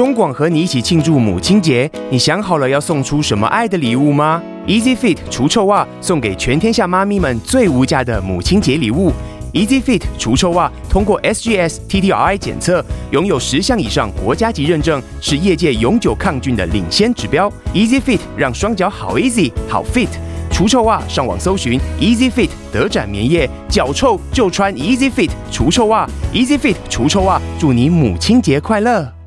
中廣和你一起慶祝母親節，你想好了要送出什麼愛的禮物嗎？ Easy Fit 除臭襪送給全天下媽咪們最無價的母親節禮物。Easy Fit 除臭襪通過 SGS TTRI 檢測，擁有10項以上國家級認證，是業界永久抗菌的領先指標。Easy Fit 讓雙腳好 easy 好 fit。除臭襪上網搜尋 Easy Fit 德展棉業，腳臭就穿 Easy Fit 除臭襪。Easy Fit 除臭襪，祝你母親節快樂！